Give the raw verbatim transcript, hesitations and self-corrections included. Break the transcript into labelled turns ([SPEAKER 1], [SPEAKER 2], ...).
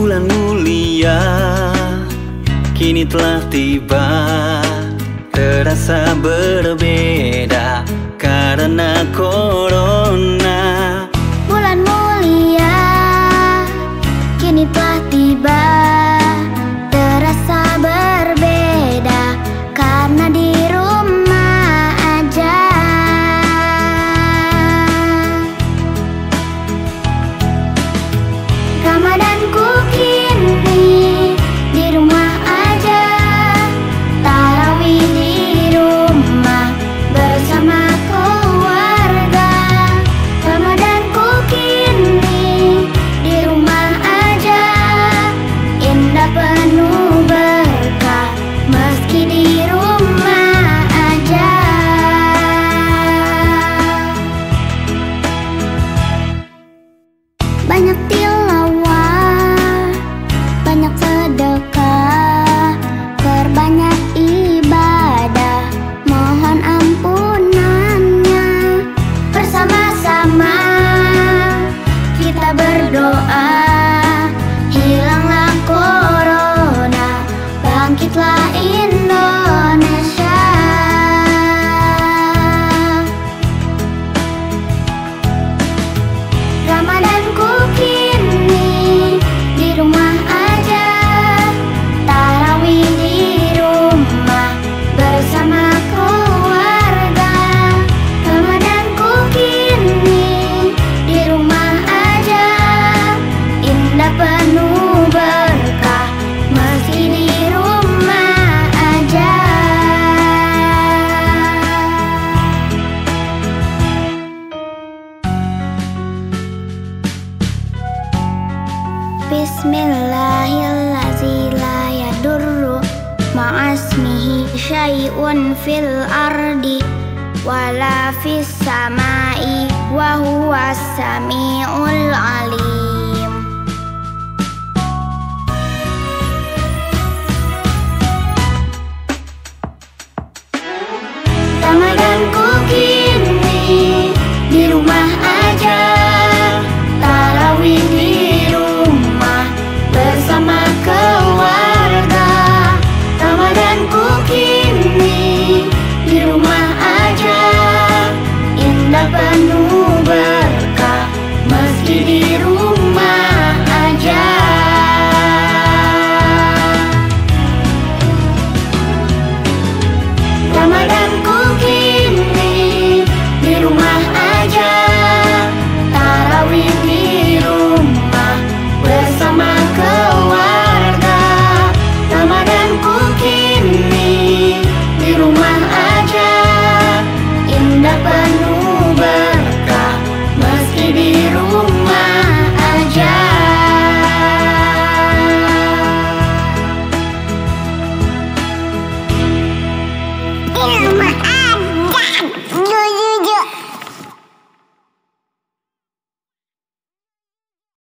[SPEAKER 1] Bulan mulia kini telah tiba, terasa berbeda karena corona.
[SPEAKER 2] Bulan mulia kini telah tiba, terasa berbeda karena di rumah aja. Ramadanku kini di rumah aja, tarawih di rumah bersama keluarga. Ramadanku kini di rumah aja, indah penuh berkah meski di rumah aja. Banyak tilawah, banyak sedekah, perbanyak ibadah, mohon ampunannya. Bersama-sama kita berdoa, hilanglah corona, bangkitlah Indonesia. Ramadanku kini di rumah aja, tarawih di rumah bersama keluarga. Ramadanku kini di rumah aja, indah penuh berkah meski di rumah aja. Bismillahirrahmanirrahim. La yadurru ma'asmihi syai'un fil ardi wala fis samai wa huwas samiul alim. Ramadanku kini di rumah aja, tarawih di rumah bersama keluarga. Ramadanku kini di rumah aja, indah penuh berkah meski di rumah aja. Ramadanku kini di rumah aja, tarawih di rumah bersama keluarga. Ramadanku kini di rumah aja, indah penuh